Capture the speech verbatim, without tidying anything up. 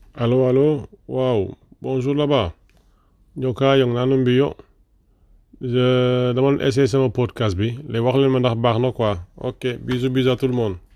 Allo, allo, wow, bonjour là-bas. Njoka yong nanum bi yo. Je dama essayer sama podcast bi. Les wax leen ma ndax baax na quoi. Ok, bisous bisous à tout le monde.